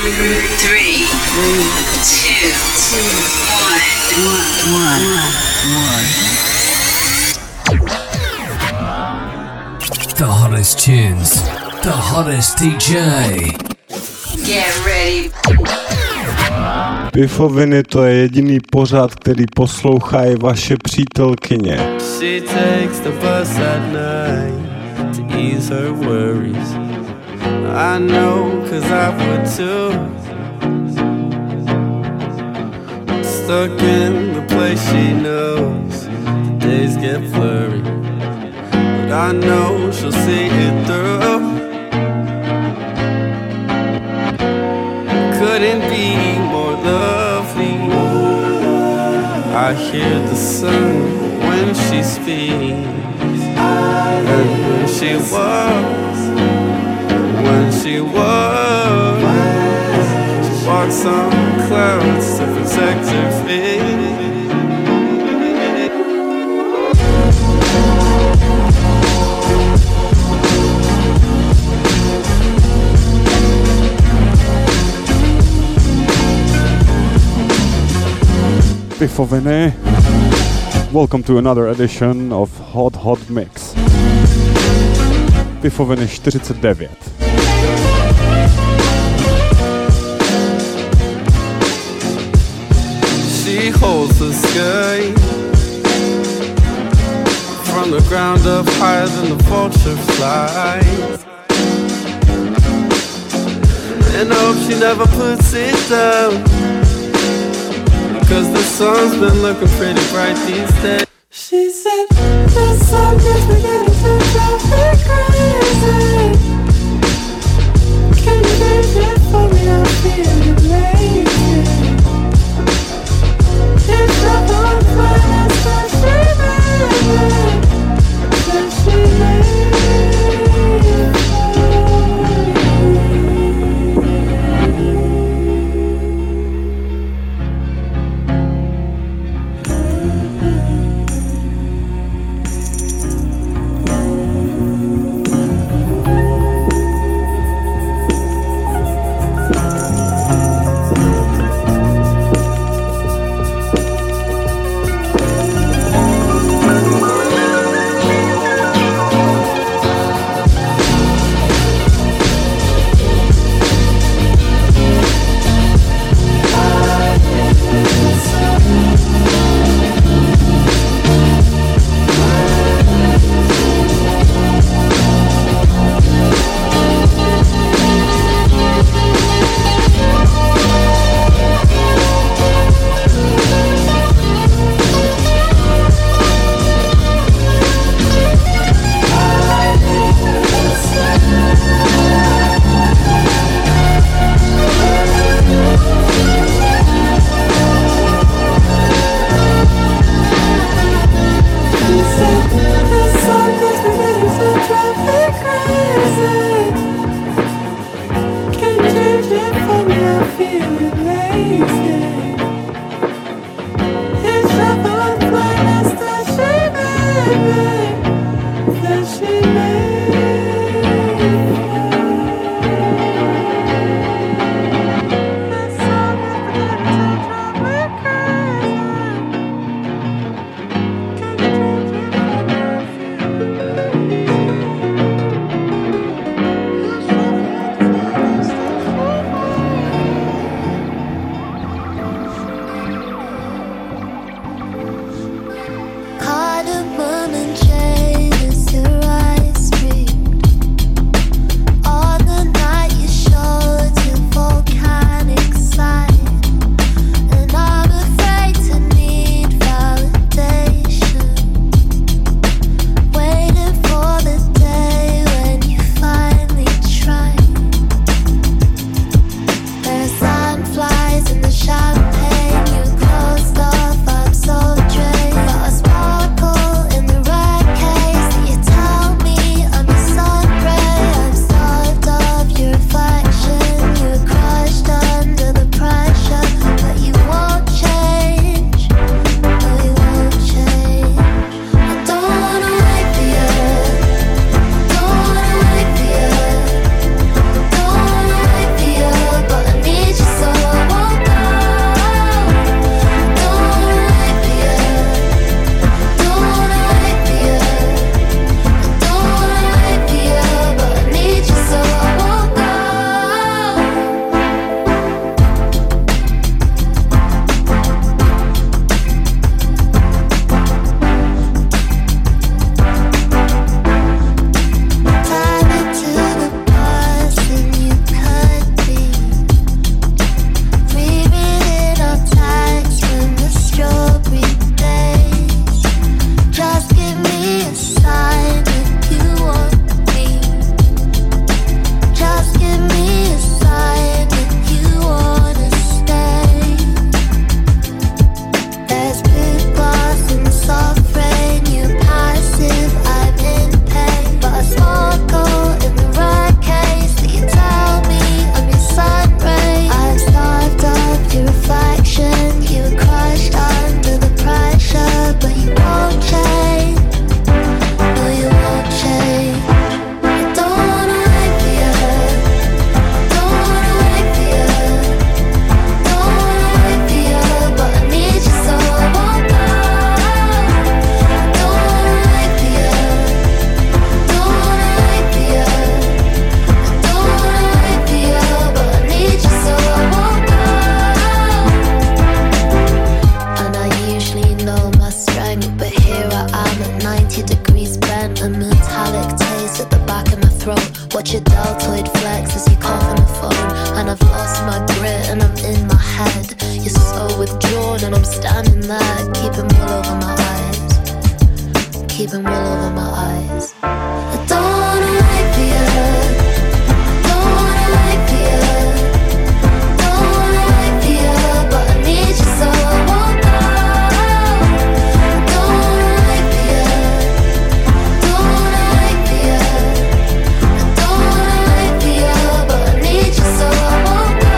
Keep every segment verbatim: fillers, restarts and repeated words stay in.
Three, two, one, one, one. The hottest tunes, the hottest D J. Get ready. Pifoviny, to je jediný pořad, který poslouchají vaše přítelkyně. She takes the bus at night to ease her worries. I know, cause I would too. Stuck in the place she knows, the days get blurry, but I know she'll see it through. Couldn't be more lovely. I hear the sun when she speaks, and when she walks, when she walks, she walks on clouds to protect her feet. Pifoviny. Welcome to another edition of Hot Hot Mix. Pifoviny čtyřicet devět. She holds the sky from the ground up higher than the vulture flies, and I hope she never puts it down, cause the sun's been looking pretty bright these days. She said, the sun is beginning to drive me crazy. Can you leave it for me? I'm feeling lazy. It's not on fire, but she made it. But she made it for you. avoid flex as you cough on the phone. And I've lost my grit and I'm in my head. You're so withdrawn and I'm standing there, keeping wool over my eyes, keeping wool over my eyes. I don't wanna wait for you, don't wanna wait for you, don't wanna wait for you, but I need you so I won't go. I don't wanna wait for you, don't wanna wait for you, I don't wanna wait for you, but I need you so I won't go.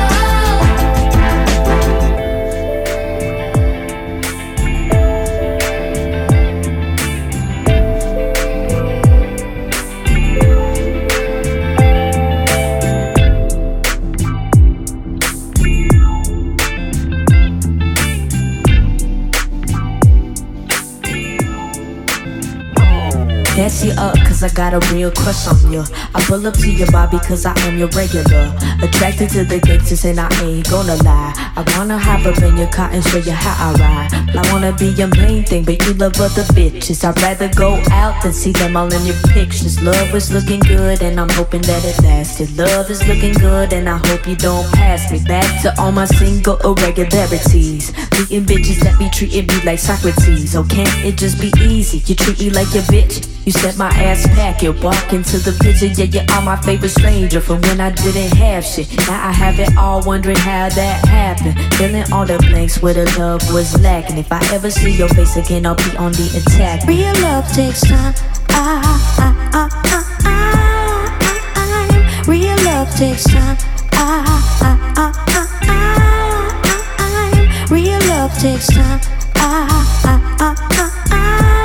Gas you up cause I got a real crush on you. I pull up to your bar because I am your regular. Attracted to the gangsters and I ain't gonna lie. I wanna hop up in your car and show you how I ride. I wanna be your main thing but you love other bitches. I'd rather go out than see them all in your pictures. Love is looking good and I'm hoping that it lasted. Love is looking good and I hope you don't pass me. Back to all my single irregularities. Meeting bitches that be treating me like Socrates. Oh, can't it just be easy? You treat me like your bitch. You set my ass back, you walk into the picture. Yeah, you are my favorite stranger from when I didn't have shit. Now I have it all, wondering how that happened. Filling all the blanks where the love was lacking. If I ever see your face again, I'll be on the attack. Real love takes time. Ah, ah, ah, ah, ah, ah. Real love takes time. Ah, ah, ah, ah, ah, ah. Real love takes time. Ah, ah, ah, ah, ah.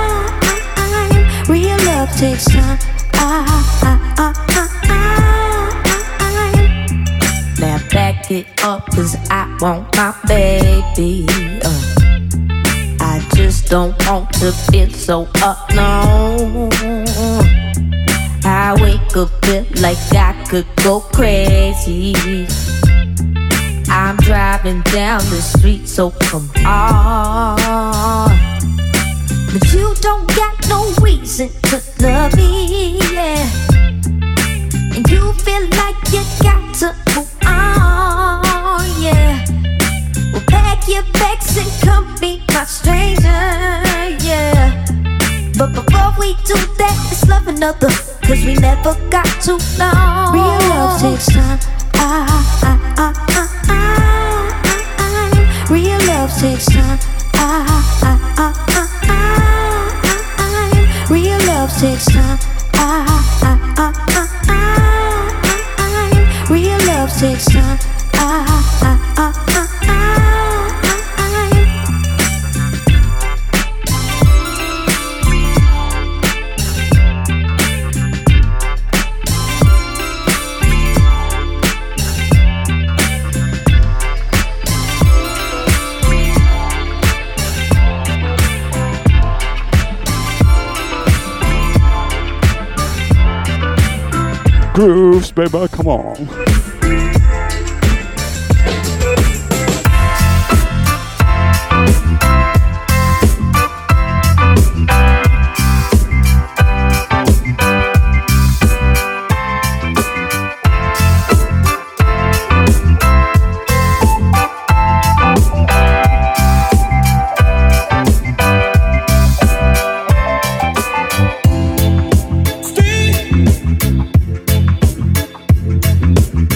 Real love takes time. Ah, ah, ah, ah, ah. Now back it up cause I want my baby. uh, I just don't want to feel so alone. I wake up feel like I could go crazy. I'm driving down the street so come on. But you don't got no reason to love me, yeah. And you feel like you got to move on, yeah. Well, pack your bags and come be my stranger, yeah. But before we do that, let's love another, cause we never got too long. Real love takes time. Ah, ah, ah, ah, ah, ah. Real love takes time. Ah, ah, ah, ah. Real love takes time. Ah, ah, ah, ah, ah. Real love takes time. Ah, ah, ah, ah, ah. Grooves, baby, come on. Steve.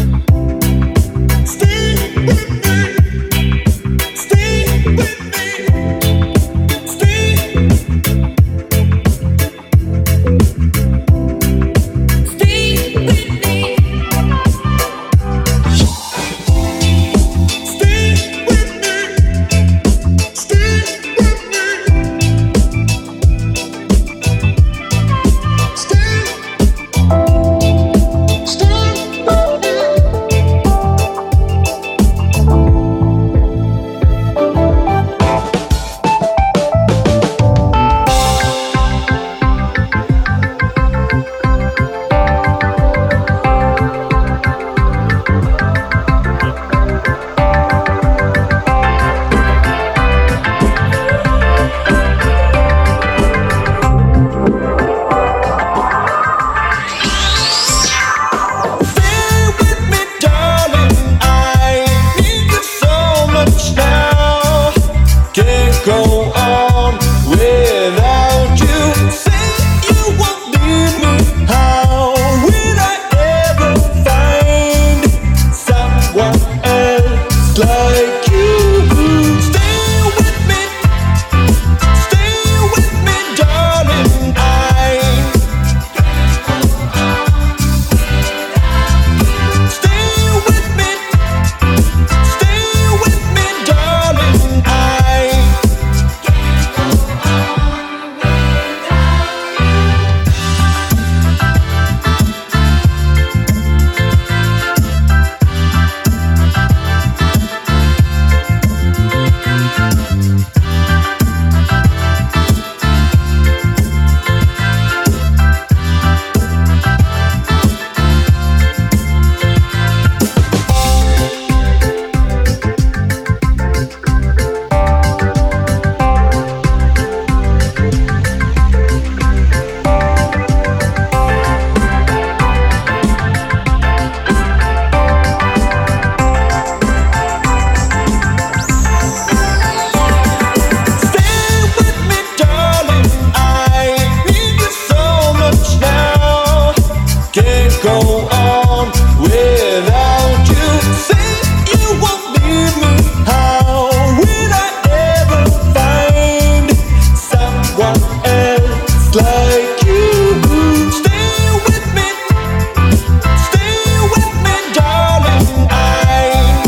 go on without you. Say you won't leave me. How will I ever find someone else like you? Stay with me, stay with me, darling. I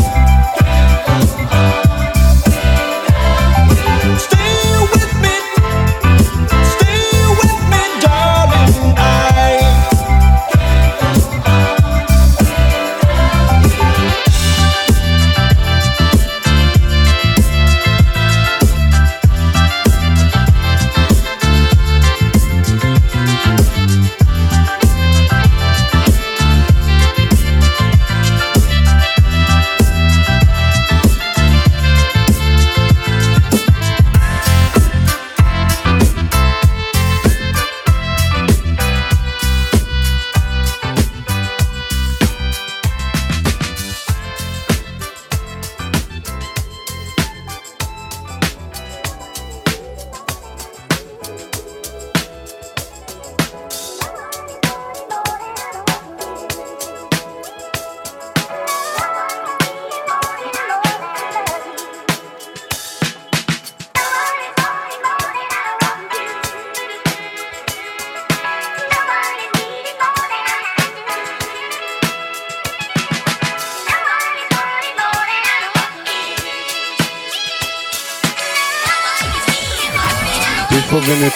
stay with me, stay with me, darling. I Beautiful minute.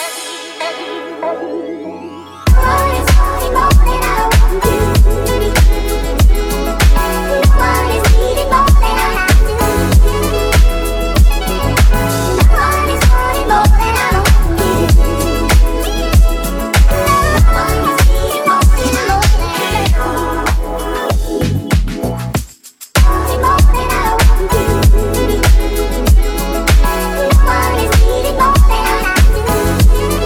Thank you.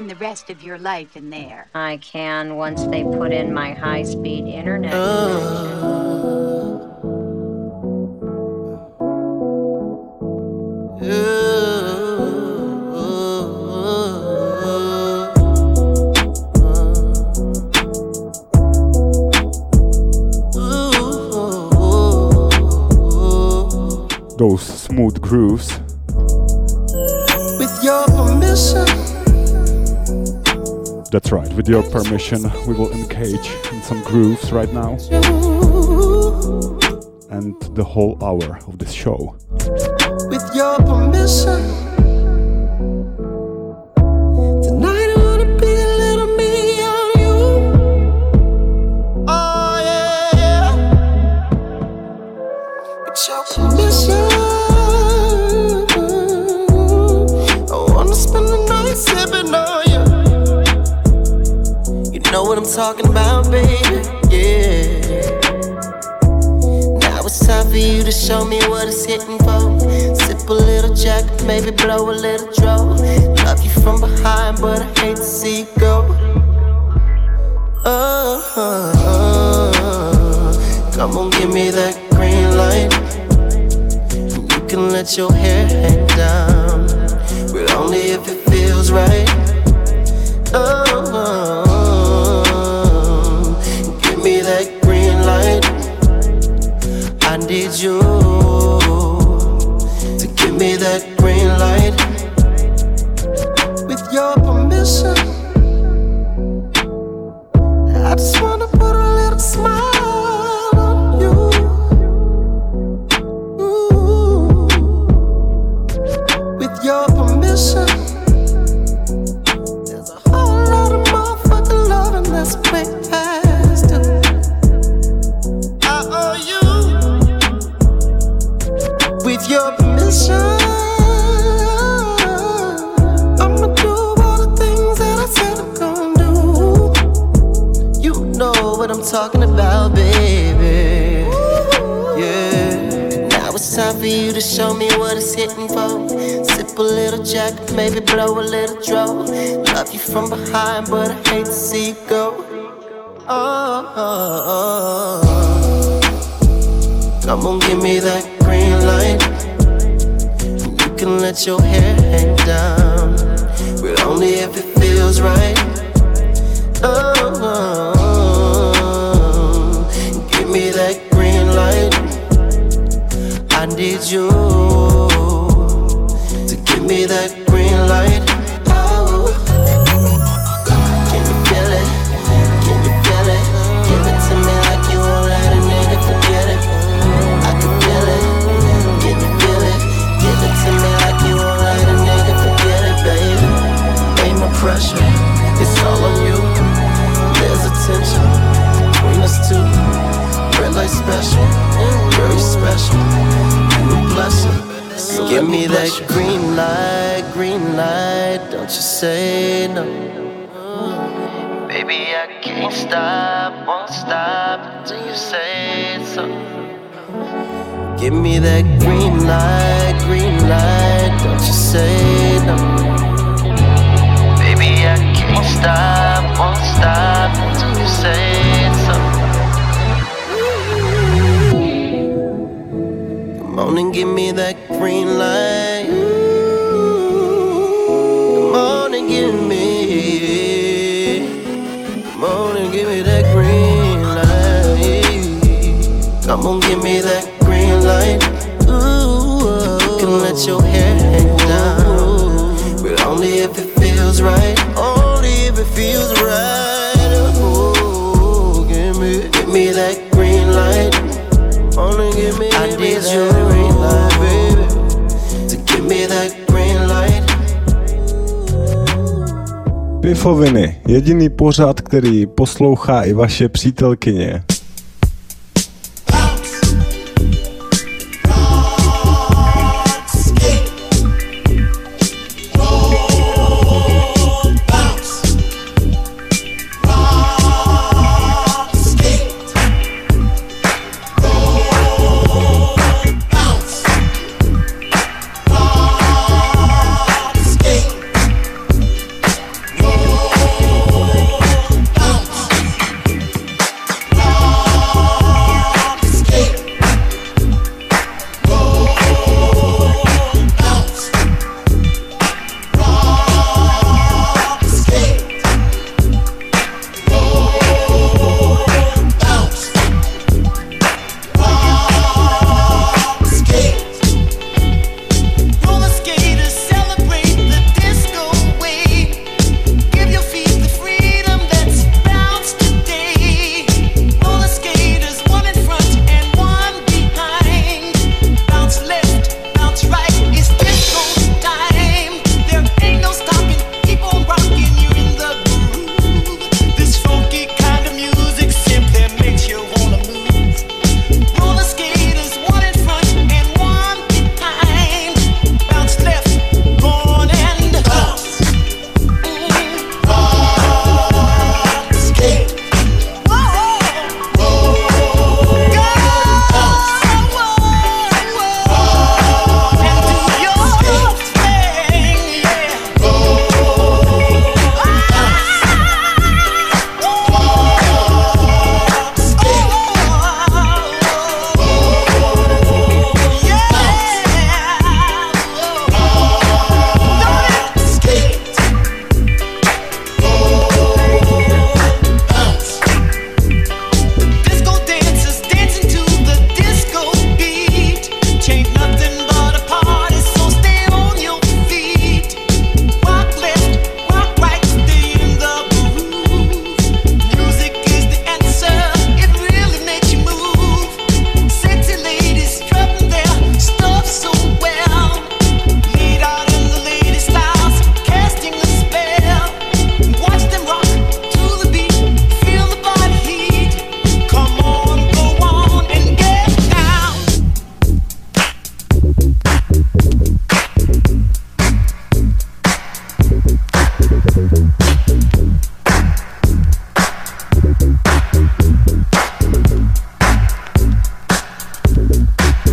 spend the rest of your life in there. I can once they put in my high-speed internet. Uh, Those smooth grooves. With your permission. That's right, with your permission, we will engage in some grooves right now. And the whole hour of this show. With your permission. Tonight I wanna be a little me on you. Oh yeah. With your permission. I wanna spend the night sipping on you. You know what I'm talking about, baby. Yeah. It's time for you to show me what it's hitting for. Sip a little jack, maybe blow a little draw. Love you from behind, but I hate to see you go. Oh, oh, oh. Come on, give me that green light. You can let your hair hang down, but only if it feels right. Oh, oh, oh. Give me that green light. I need you to give me that green light. With your permission, I just wanna put a little smile on you. Ooh. With your permission, there's a whole lot of motherfucking loving that's way past due. I owe you. With your permission, I'ma do all the things that I said I'm gonna do. You know what I'm talking about, baby. Yeah. Now it's time for you to show me what it's hitting for. Sip a little jack, maybe blow a little draw. Love you from behind, but I hate to see you go. Oh, oh, oh. Come on, give me that green light. You can let your hair hang down, but only if it feels right. Oh, oh, oh. Give me that green light. I need you to give me that green light. Oh, can you feel it? Can you feel it? Give it to me like you won't let a nigga forget it. I can feel it. Can you feel it? Give it to me like you won't let a nigga forget it, baby. Ain't no pressure, it's all on you. There's a tension between us two. Red light special, girl you special. You a blessing. So give me that green light, green light. Don't you say no. Baby, I can't stop, won't stop until you say so. Give me that green light, green light, don't you say no. Baby, I can't stop, won't stop until you say so. Come on and give me that green light. Come on and give me. Come on and give me that green light. Come on, give me that green light. Ooh, you can let your hair hang down, but only if it feels right. Only if it feels right. Ooh, give me, give me that green light. Only give me, I need that green light, baby. To give me that green light. Pifoviny, jediný pořad, který poslouchá i vaše přítelkyně. Roll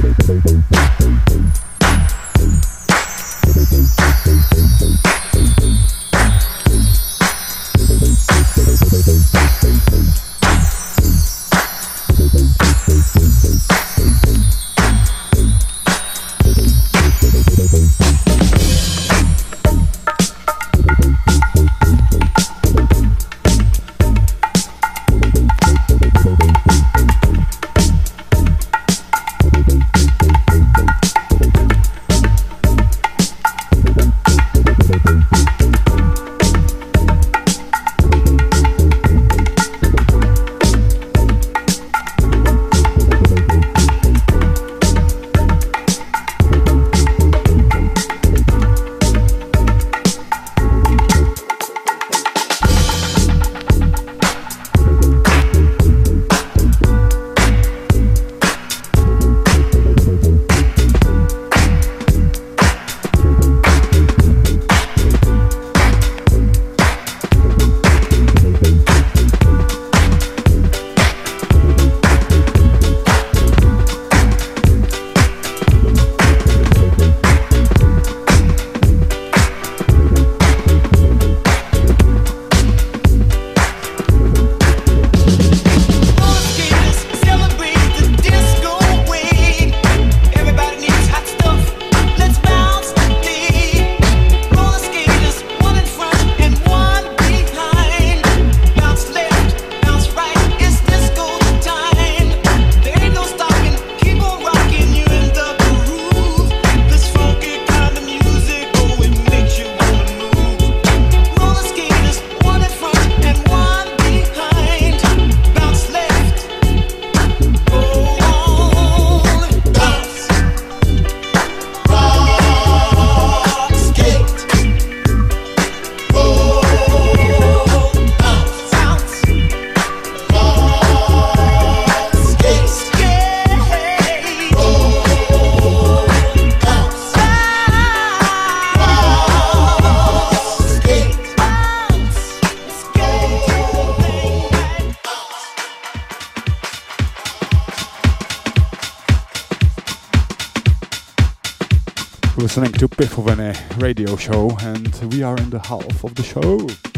Listening to Pifovene radio show, and we are in the half of the show.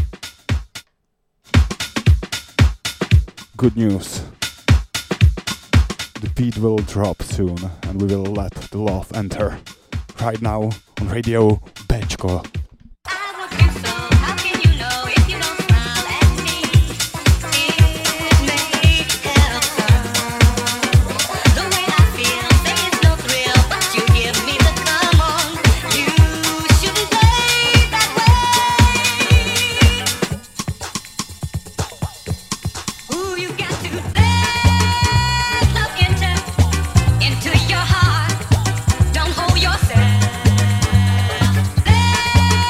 Good news. The beat will drop soon, and we will let the love enter. Right now on Radio Bečko. Into your heart, don't hold yourself.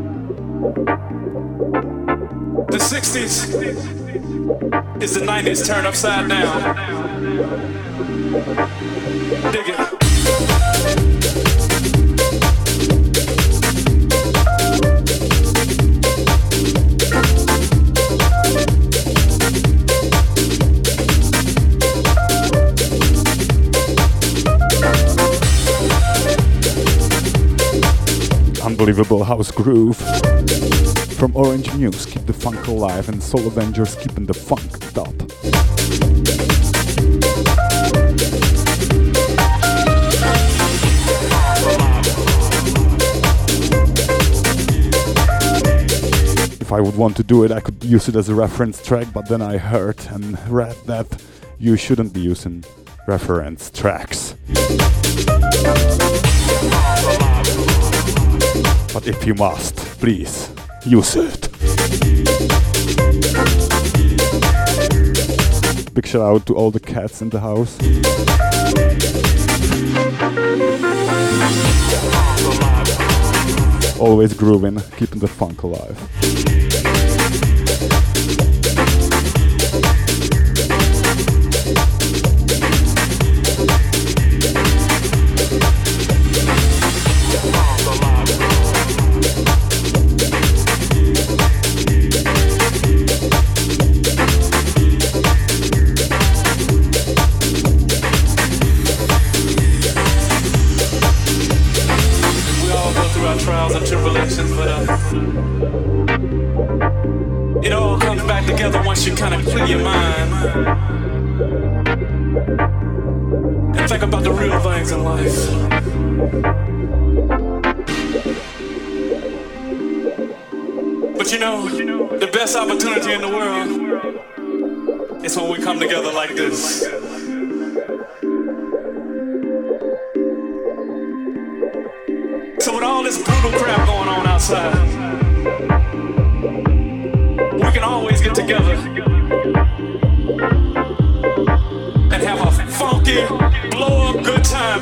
The sixties is the nineties turned upside down. Dig it. Unbelievable house groove from Orange Muse, keep the funk alive, and Soul Avengers keeping the funk up. If I would want to do it, I could use it as a reference track, but then I heard and read that you shouldn't be using reference tracks. But if you must, please, use it. Big shout out to all the cats in the house. Always grooving, keeping the funk alive. Trials and tribulations, but uh, it all comes back together once you kind of clear your mind and think about the real things in life. But you know, the best opportunity in the world is when we come together like this. So with all this brutal crap going on outside, we can always get together and have a funky, blow-up good time.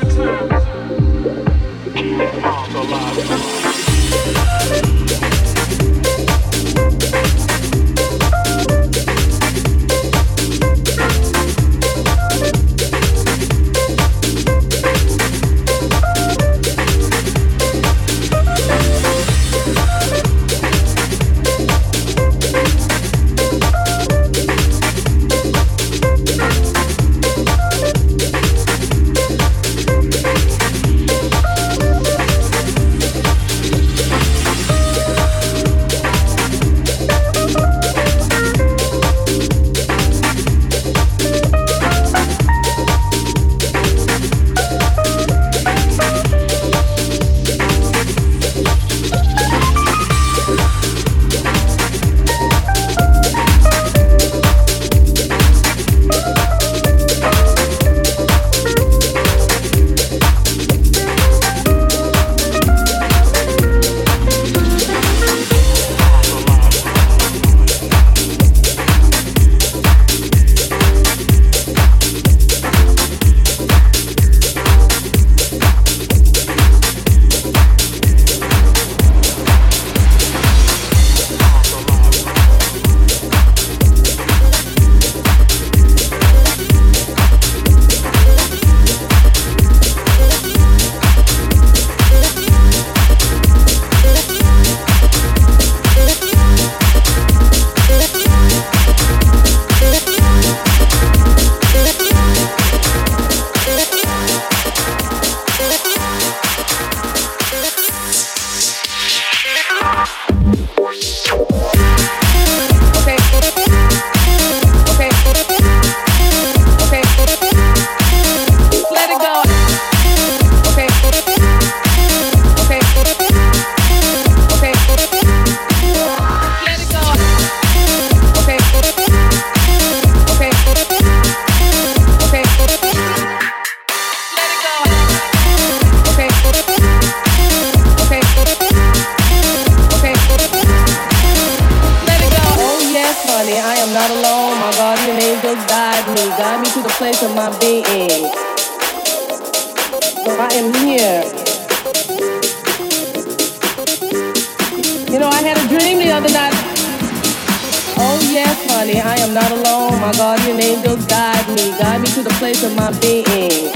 You know, I had a dream the other night. Oh yes, honey, I am not alone. My guardian angels guide me, guide me to the place of my being.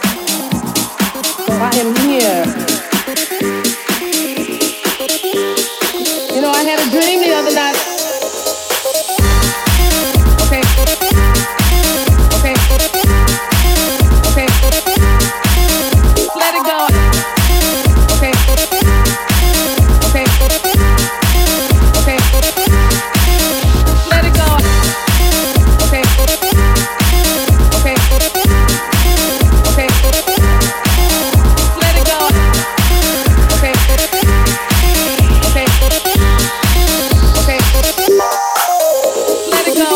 So I am here. You know, I had a dream the other night. Okay. Okay. Okay. Let it go. Okay. Okay. Okay. Let it go. Okay. Okay. Okay. Let it go. Okay. Okay. Okay. Let it go.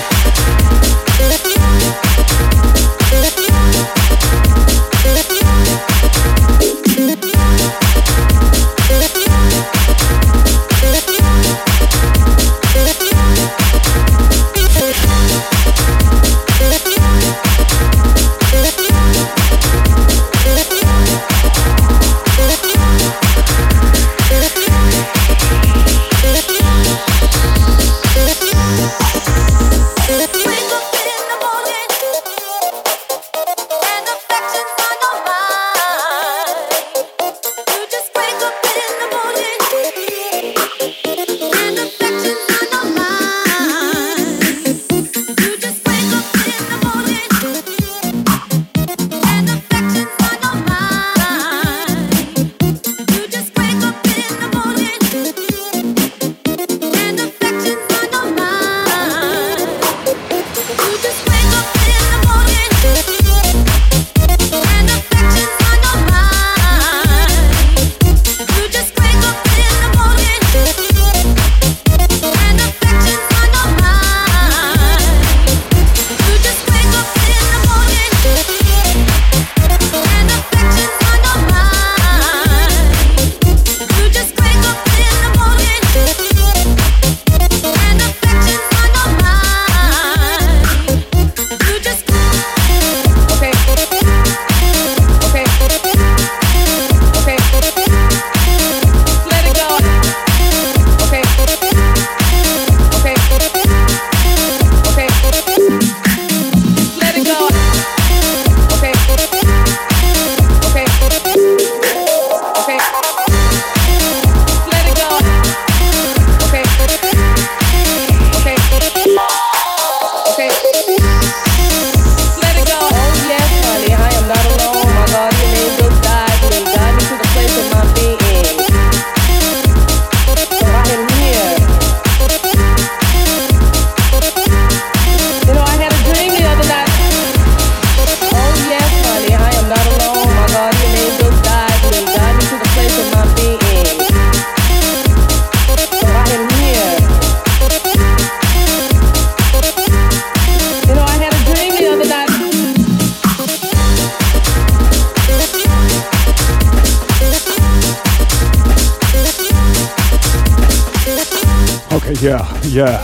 Yeah, yeah.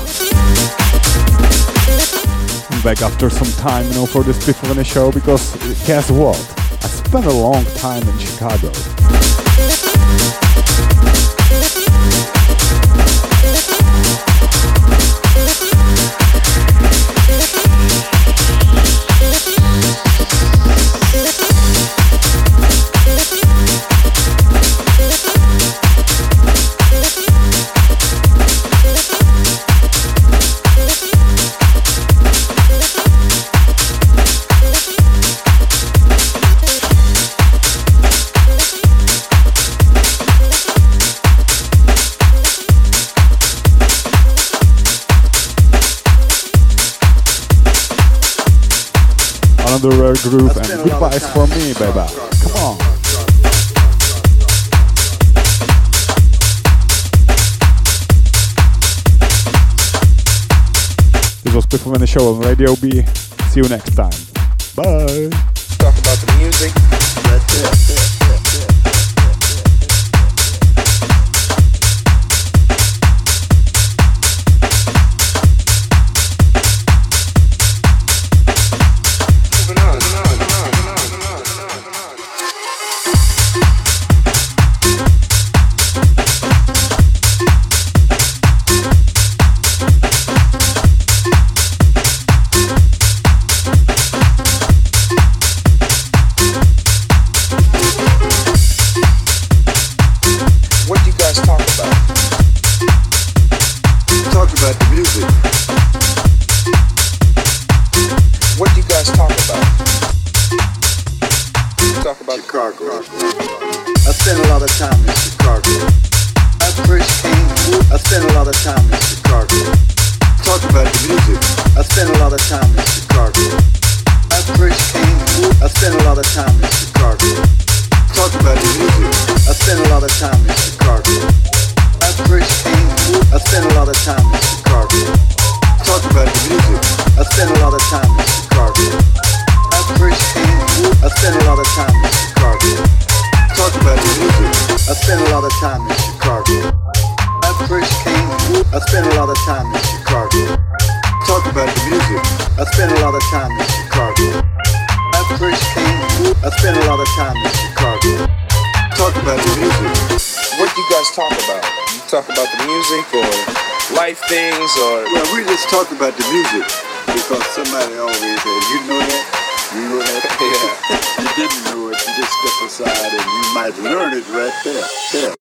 I'm back after some time, you know, for this Piffovany show because guess what? I spent a long time in Chicago. Another rare groove and goodbyes for me, baby. Come on. This was Piffovany Show on Radio B. See you next time. Bye. Talk about the music. That's it. spend a lot of time in Chicago. Talk about the music. I spend a lot of time in Chicago. I first came, I spent a lot of time in Chicago. Talk about the music. I spent a lot of time in Chicago. I first came, I spent a lot of time in Chicago. Talk about the music. I spent a lot of time in Chicago. I first came, I spent a lot of time in Chicago. Talk about the music. I spent a lot of time in Chicago. I first came, I spent a lot of time in Chicago. Talk about the music. I spent a lot of time in Chicago. I first came, I spent a lot of time in Chicago. Talk about the music. What do you guys talk about? You talk about the music or life things or? Well, we just talk about the music because somebody always said, you know that? You know that? Yeah. You didn't know it, you just step aside and you might learn it right there. Yeah.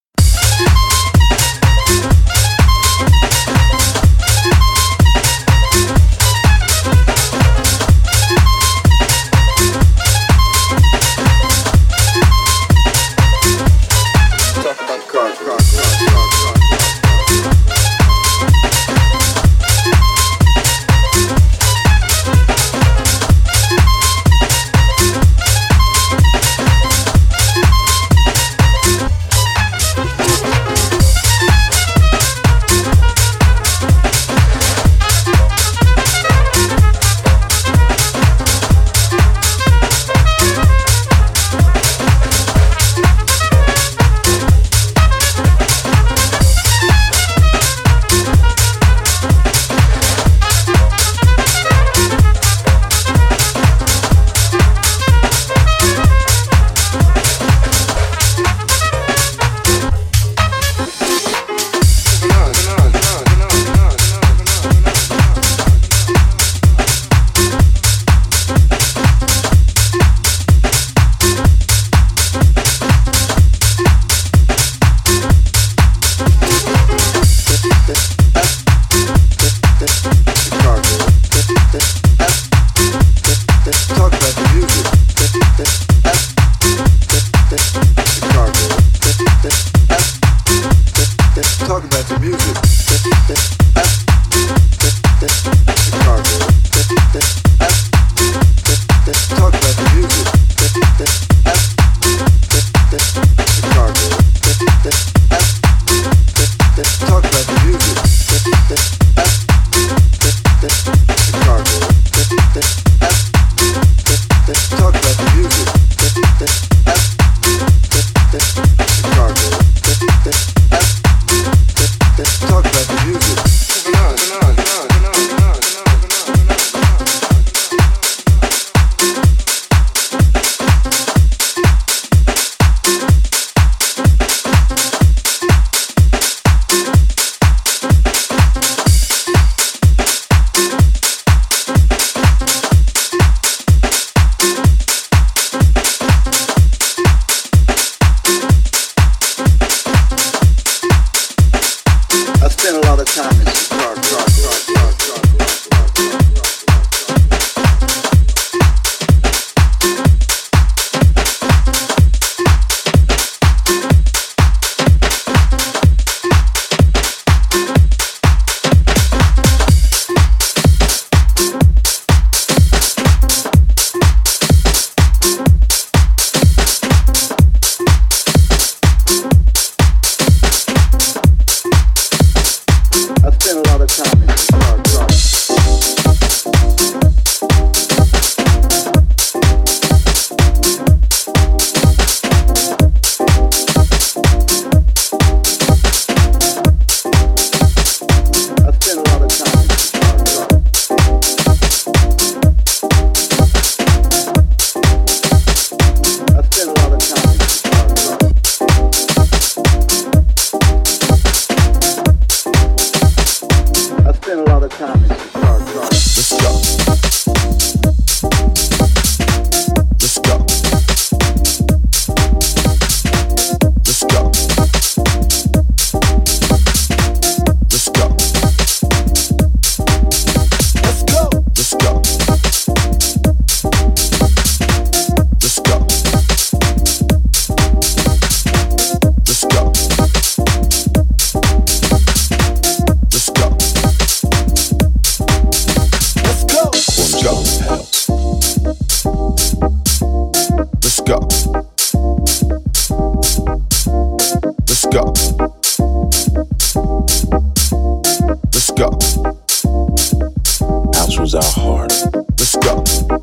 go. House was our heart. Let's go.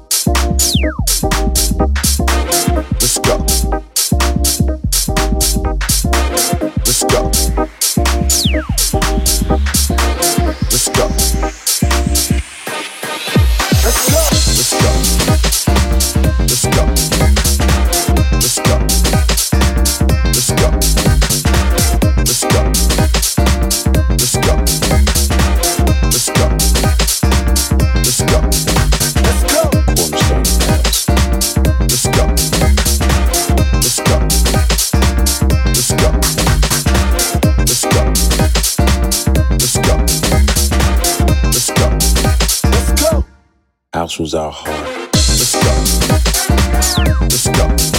Let's go. Let's go. Let's go. Let's go. Let's go. Let's go. Let's go. Let's go. Let's go. Let's go. Let's go. Let's go. Let's go. Cornerstone House. Let's go. Let's go. Let's go. Let's go. Let's go. Let's go. Let's go. House was our heart. Let's go. Let's go.